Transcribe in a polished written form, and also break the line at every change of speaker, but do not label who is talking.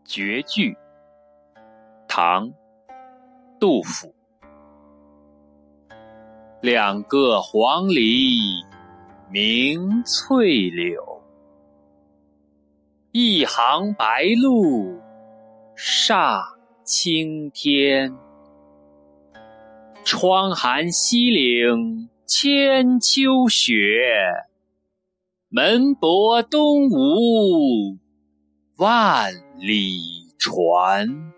绝句，唐·杜甫。两个黄鹂鸣翠柳，一行白鹭上青天。窗含西岭千秋雪，门泊东吴万里船。